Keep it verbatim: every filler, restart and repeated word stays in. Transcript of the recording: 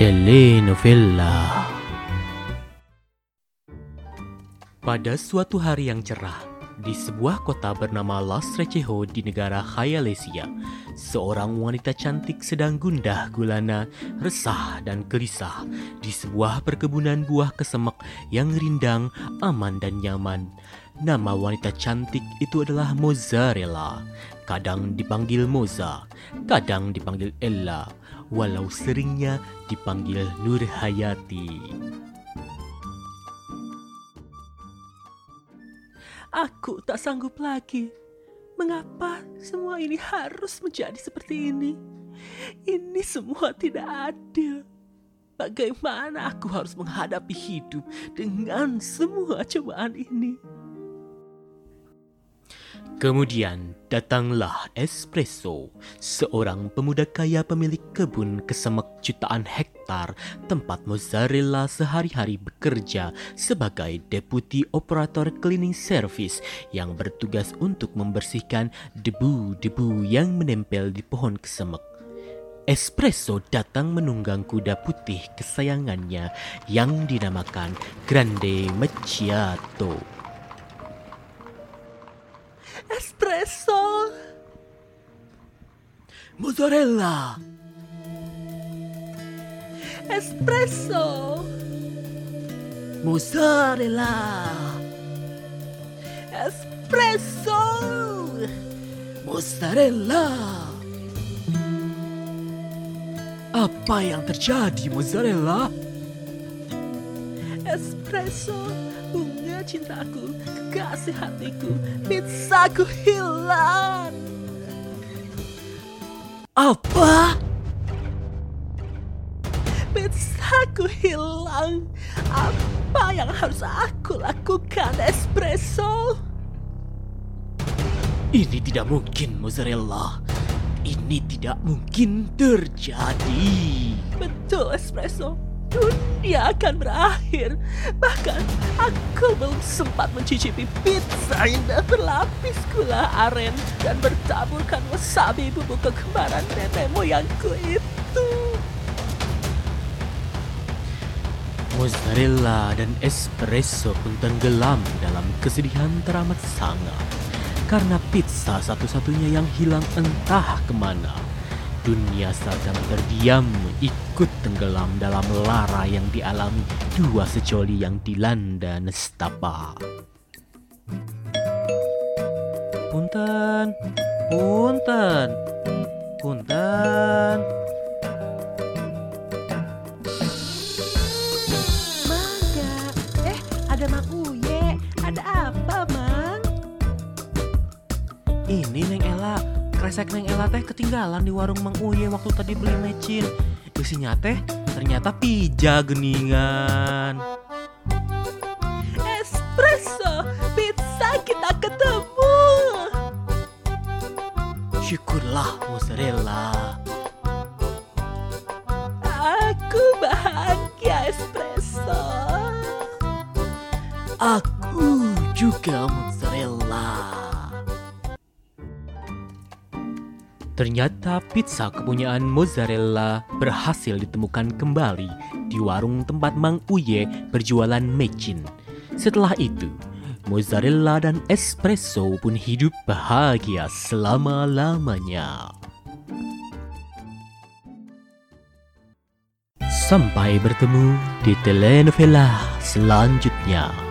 Telenovela. Pada suatu hari yang cerah, di sebuah kota bernama Las Receho di negara Khayalesia, seorang wanita cantik sedang gundah gulana, resah dan gelisah di sebuah perkebunan buah kesemek yang rindang, aman dan nyaman. Nama wanita cantik itu adalah Mozzarella. Kadang dipanggil Moza, kadang dipanggil Ella, walau seringnya dipanggil Nurhayati. Aku tak sanggup lagi. Mengapa semua ini harus menjadi seperti ini? Ini semua tidak adil. Bagaimana aku harus menghadapi hidup dengan semua cobaan ini? Kemudian datanglah Espresso, seorang pemuda kaya pemilik kebun kesemek jutaan hektar tempat Mozzarella sehari-hari bekerja sebagai deputi operator cleaning service yang bertugas untuk membersihkan debu-debu yang menempel di pohon kesemek. Espresso datang menunggang kuda putih kesayangannya yang dinamakan Grande Macchiato. Espresso, Mozzarella, espresso, Mozzarella, espresso, Mozzarella. Apa yang terjadi, Mozzarella? espresso, bunga cintaku, kekasih hatiku, pizzaku hilang. Apa? Pizzaku hilang. Apa yang harus aku lakukan, Espresso? Ini tidak mungkin, Mozzarella. Ini tidak mungkin terjadi. Betul, Espresso. Dunia akan berakhir. Bahkan aku belum sempat mencicipi pizza indah berlapis gula aren dan bertaburkan wasabi bumbu kekembaran nenek moyangku itu. Mozzarella dan Espresso pun tenggelam dalam kesedihan teramat sangat karena pizza satu-satunya yang hilang entah kemana. Dunia sedang terdiam ikut tenggelam dalam lara yang dialami dua secoli yang dilanda nestapa. Punten, punten, punten. Mangga, eh ada Mang Uye, ada apa Mang? Ini Neng Ella, kresek Neng Ella teh ketinggalan di warung Mang Uye waktu tadi beli mecin. Isinya teh ternyata pija geningan. Espresso, pizza kita ketemu. Syukurlah, Mozzarella. Aku bahagia, Espresso. Aku juga, Mozzarella. Ternyata pizza kepunyaan Mozzarella berhasil ditemukan kembali di warung tempat Mang Uye berjualan mecin. Setelah itu, Mozzarella dan Espresso pun hidup bahagia selama-lamanya. Sampai bertemu di telenovela selanjutnya.